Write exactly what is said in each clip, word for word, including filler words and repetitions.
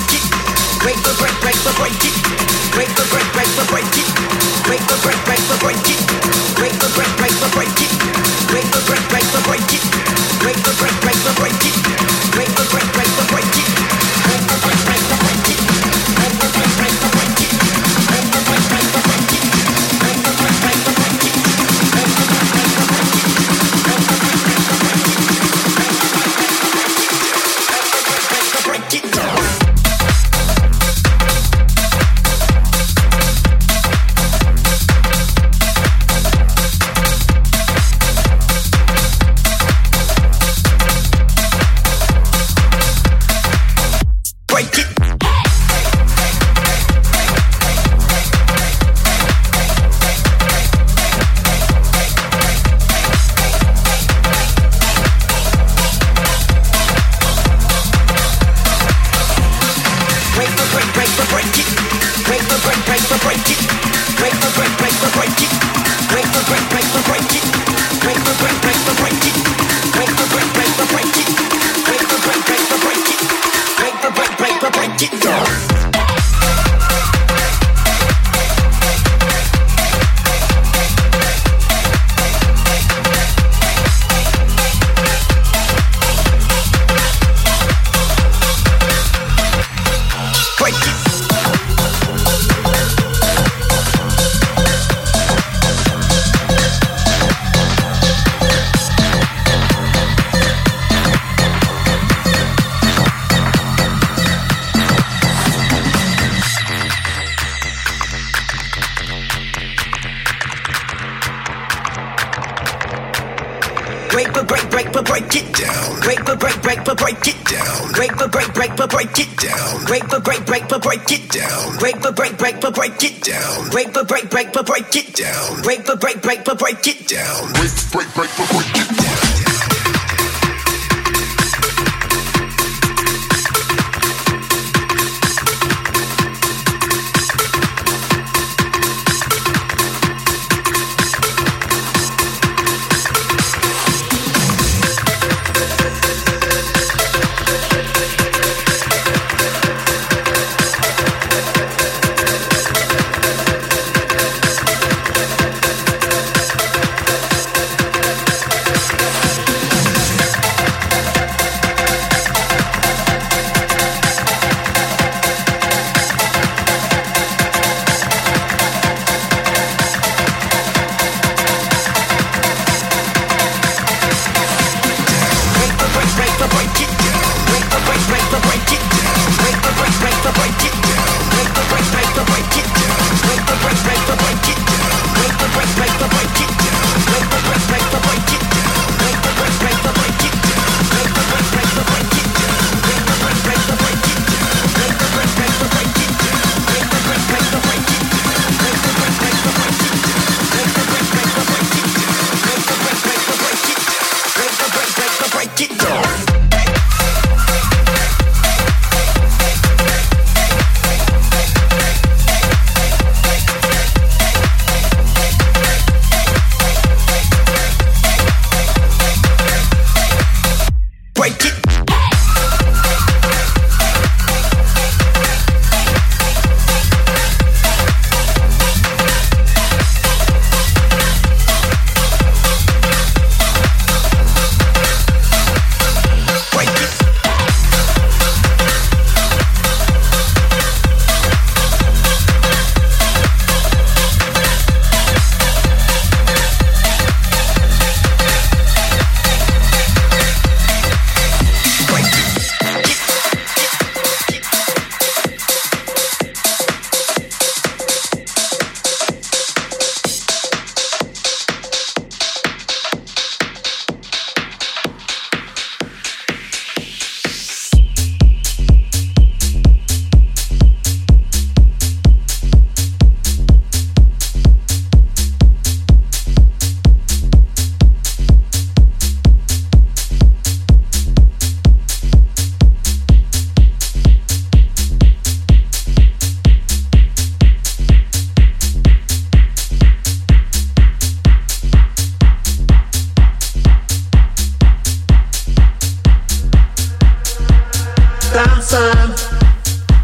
dancing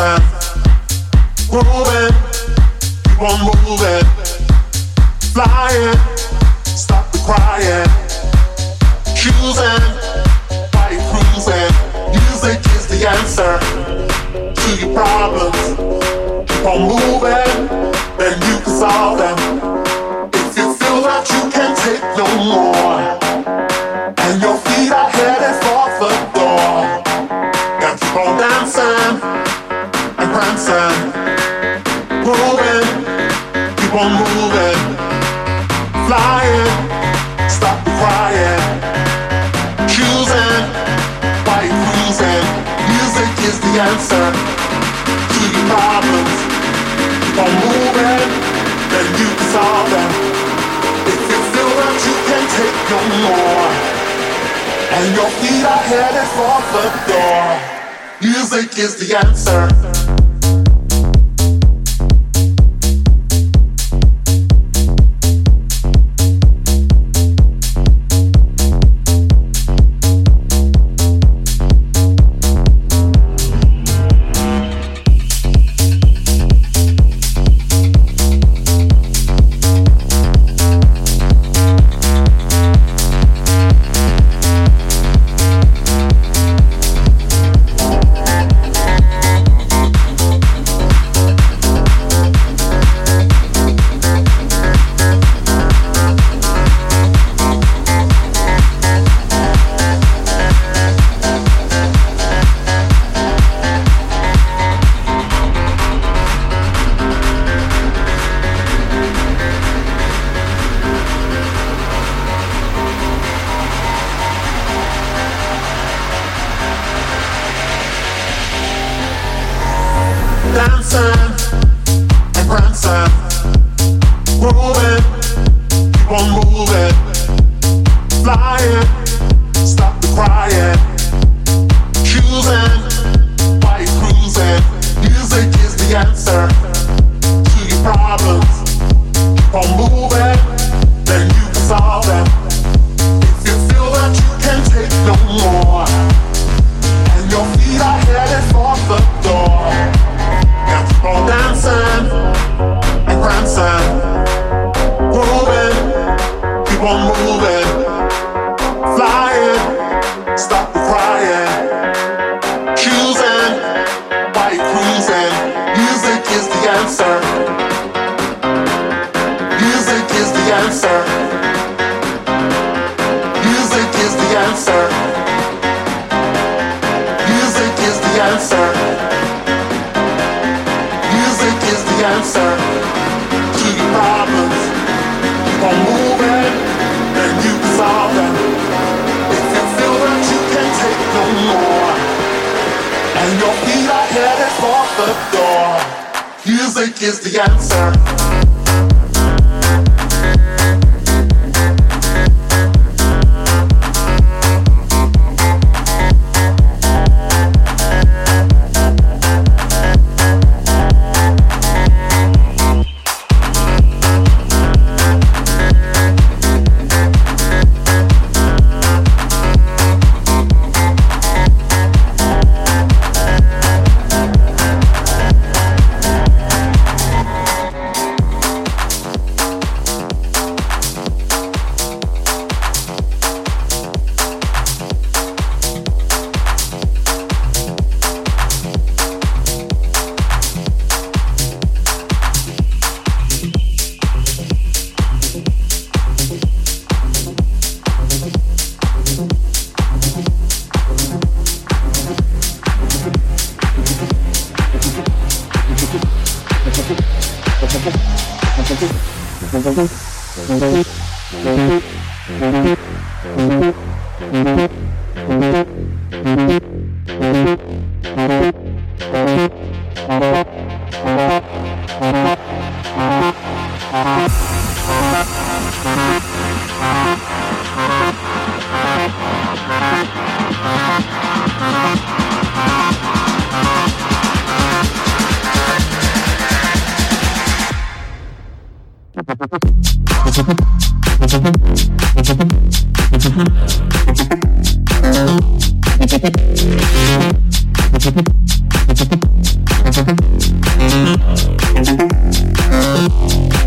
dancing, grooving, keep on moving, flying, stop the crying, choosing, why you cruising. Music is the answer to your problems. Keep on moving, then you can solve them. If you feel that you can't take no more, and your feet are headed for the door, gotta keep on dancing and prancing, moving, keep on moving, flying, stop the crying, choosing, why you cruising. Music is the answer to your problems. Keep on moving, then you can solve them. If you feel that you can't take no more, and your feet are headed for the door, music is the answer.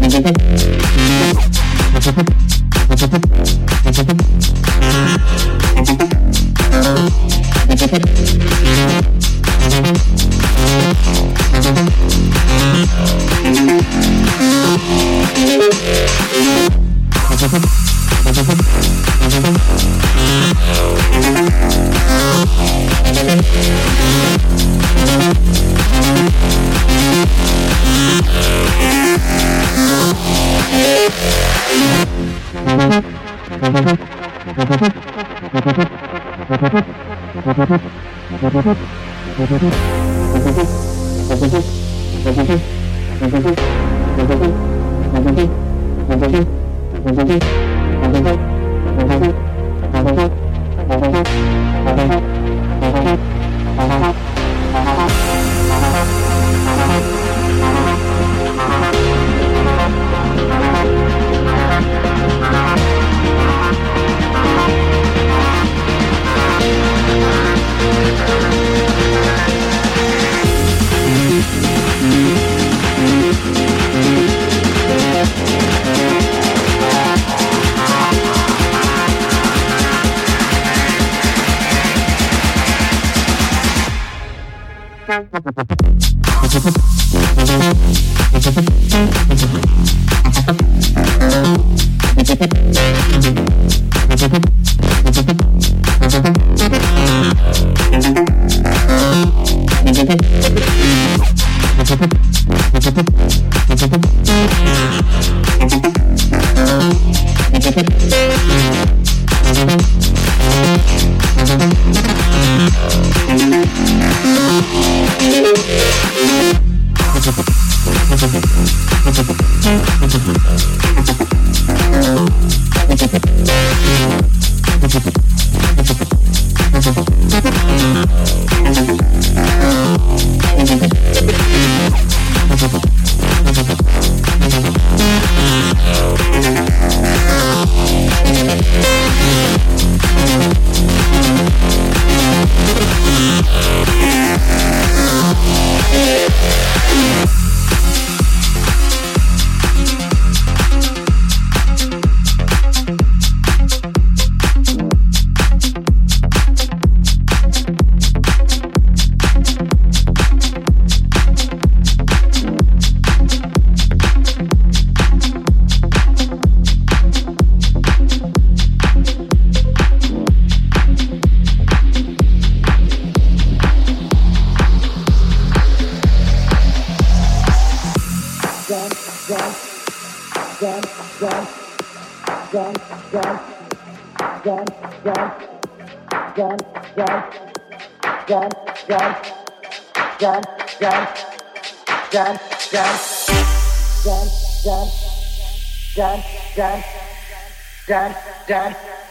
Dad, dad,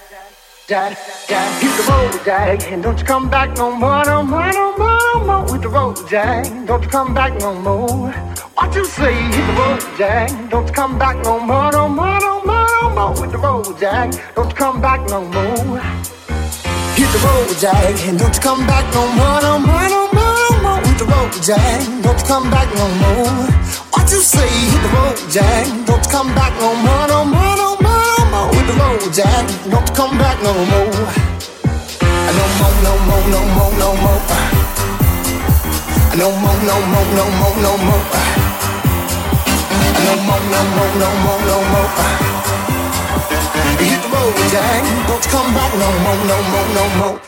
dad, dad, hit the road, Jack, and don't you come back no more, no more, no more, no more. With the road, Jack, don't you come back no more. What you say? Hit the road, Jack, don't you come back no more, no more, no more, no more. With the road, Jack, don't you come back no more. Hit the road, Jack, and don't you come back no more, no more, no more, no more. With the road, Jack, don't you come back no more. What you say? Hit the road, Jack, don't you come back no more, no more, no more. With the road, Jack, don't come back no more. No more, no more, no more, no more. No more, no more, no more, no more. No more, no more, no more, no more. Hit the road, Jack, don't come back no more, no more, no more.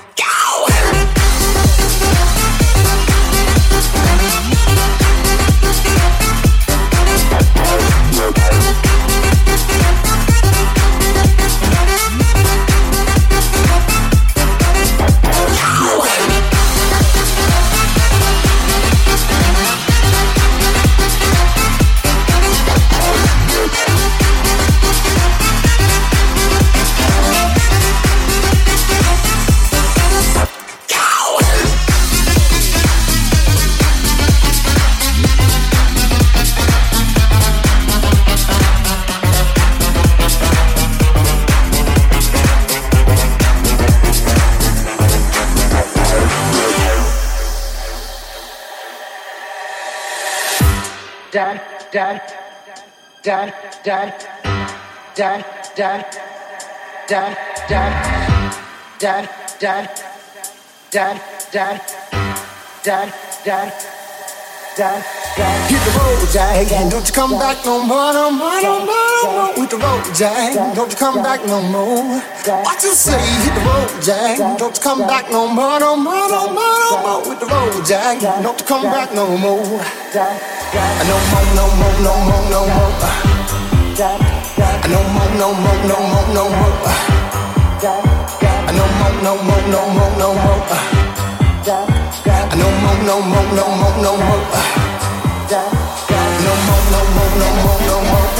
Dad, dad, dad, dad, dad, dad, dad, dad, dad, dad, dad, dad, dad, dad, dad, dad. Hit the road, Jack, and don't you come back no more, no more, no more, no more. With the road, Jack, don't you come back no more. What you say? Hit the road, Jack, don't you come back no more, no more, no more, no more. With the road, Jack, don't you come back no more. No more, no more, no more, no more. No more, no more, no more, no more. No more, no more, no more, no more. No more, no more, no more, no more. No more, no more, no more, no more.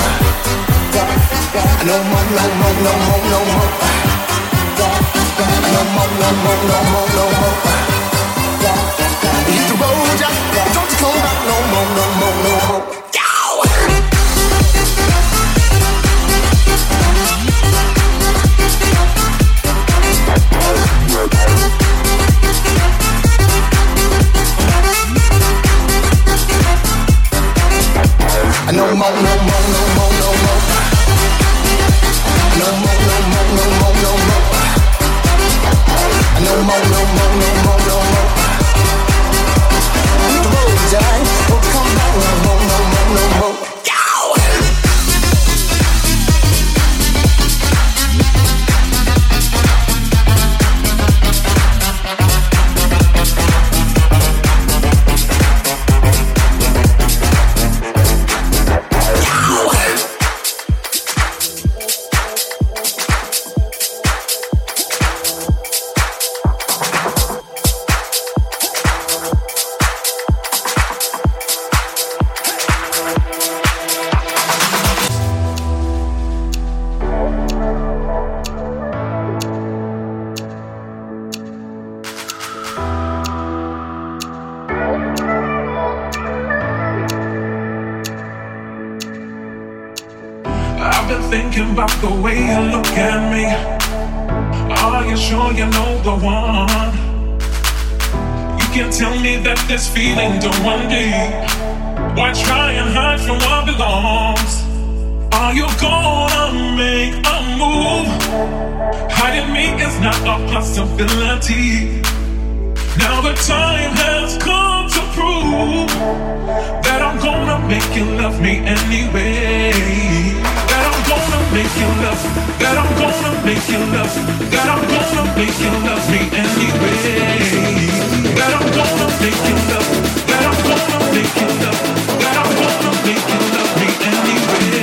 No more, no more, no more, no more. No more, no more, no more, no more. Hit the road, Jack. Don't you come back no more, no more, no more. No more, no more, no more, no more. No more, no more, no more, no more. No more, no more, no more, no more. Hit the road, Jack. Don't come back no more, no more, no more. Thinking about the way you look at me. Are you sure you know the one? You can tell me that this feeling don't run deep. Why try and hide from what belongs? Are you gonna make a move? Hiding me is not a possibility. Now the time has come to prove that I'm gonna make you love me anyway. That I'm gonna make you love, that I'm gonna make you love, that I'm gonna make you love me anyway. That I'm gonna make you love, that I'm gonna make you love, that I'm gonna make you love me anyway.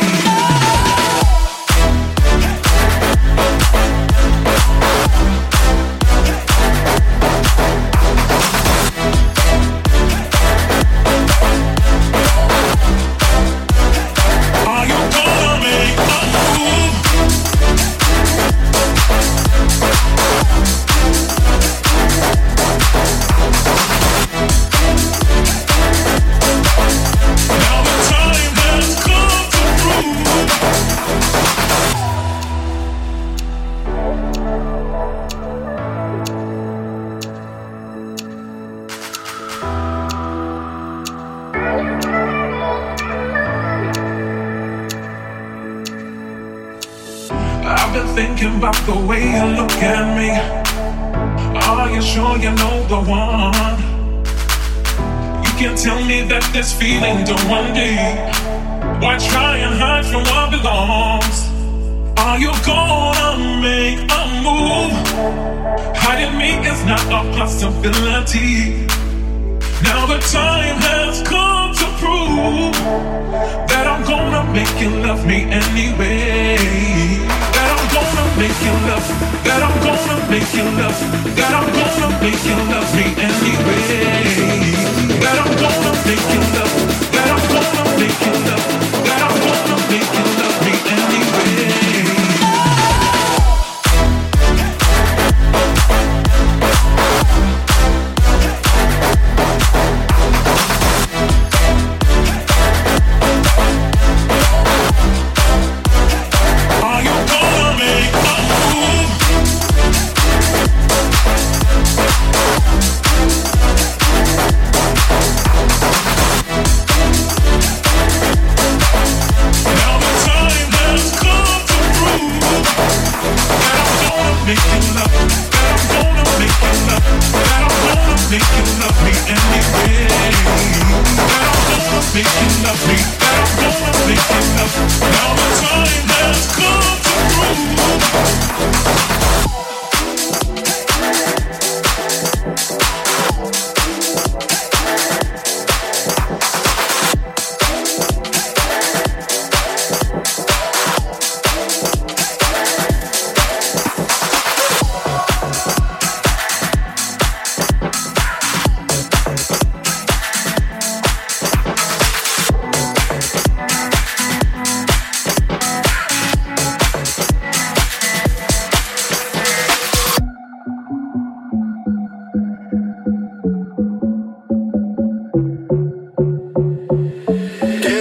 Thinking about the way you look at me. Are you sure you know the one? You can tell me that this feeling don't run deep. Why try and hide from what belongs? Are you gonna make a move? Hiding me is not a possibility. Now the time has come to prove that I'm gonna make you love me anyway. That I'm gonna make you love, that I'm gonna make you love, that I'm gonna make you love me anyway. That I'm gonna make you love, that I'm gonna make you love, that I'm gonna make you love me anyway.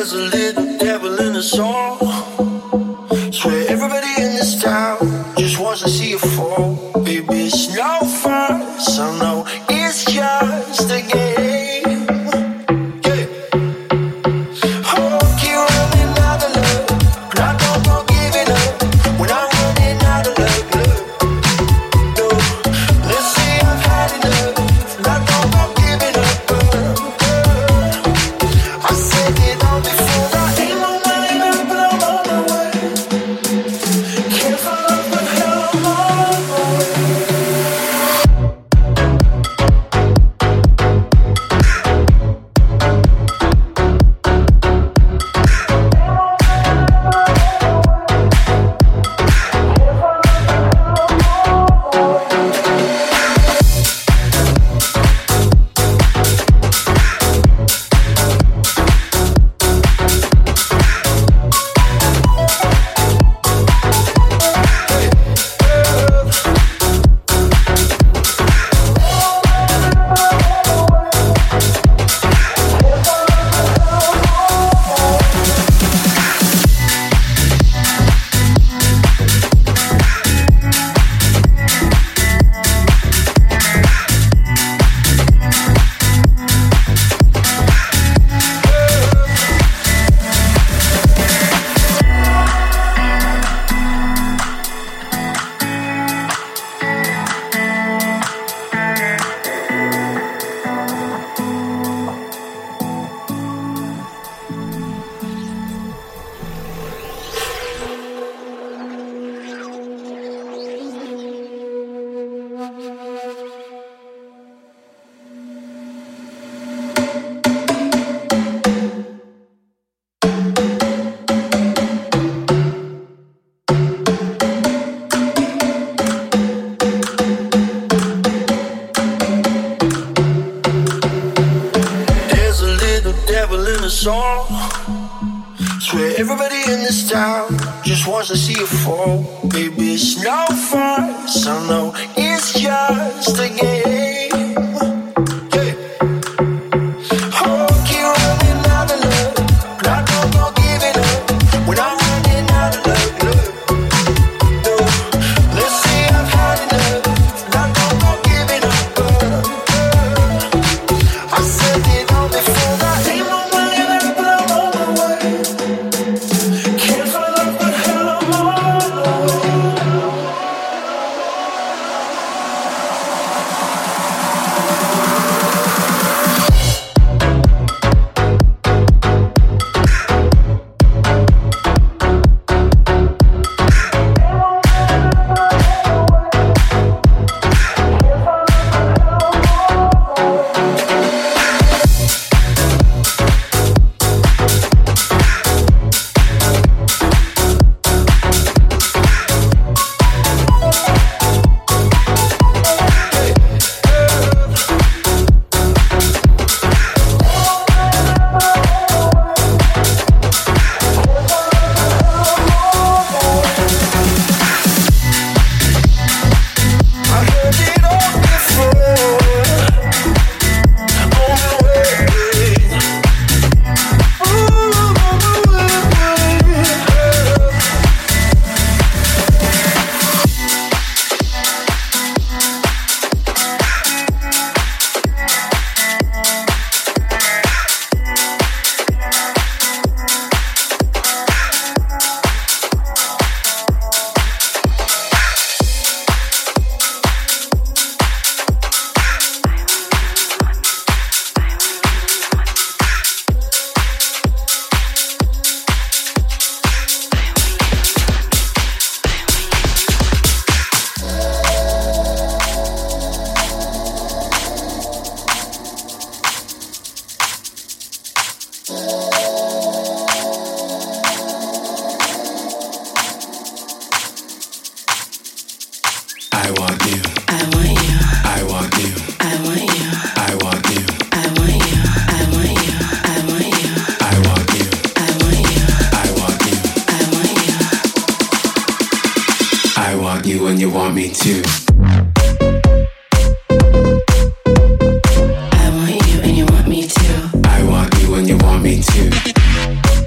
There's a little devil in us all. Swear everybody in this town just wants to see you fall. Baby, it's no fun, so no, it's just a game. Song. Swear everybody in this town just wants to see you fall. Baby, it's no fun, so no, it's just a game. when you want me to. I want you and you want me to. I want you and you want me to.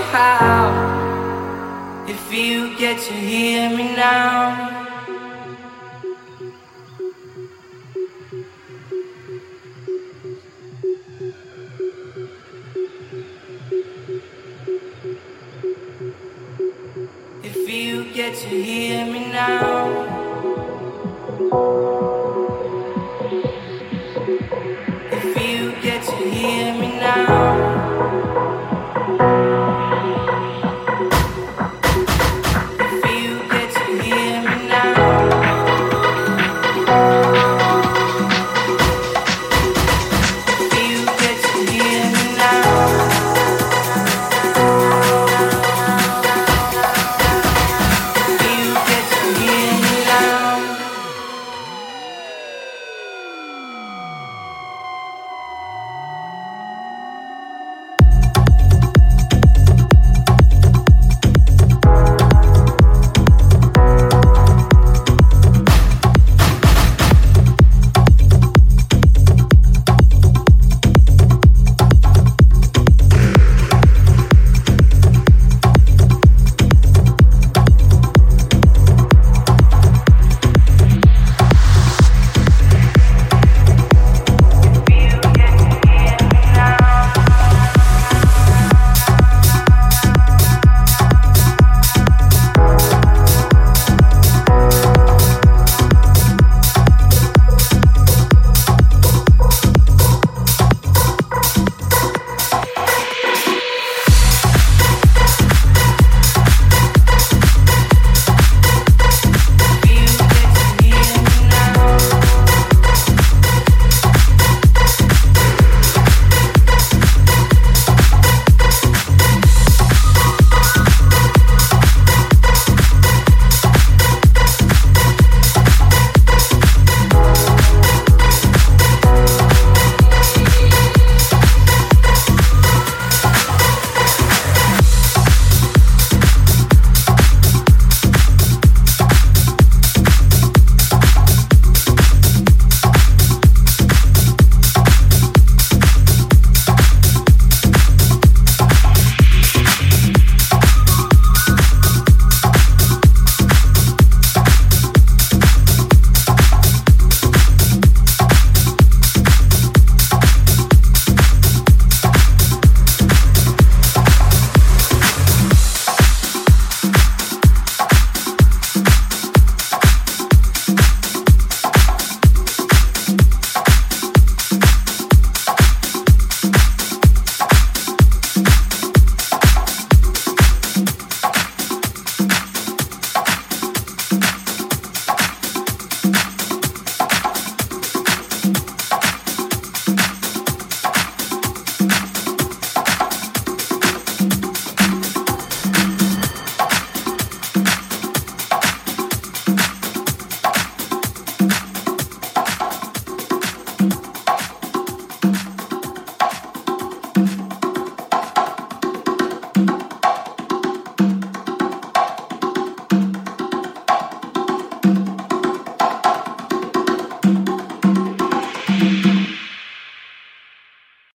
how. If you get to hear me now. If you get to hear me now.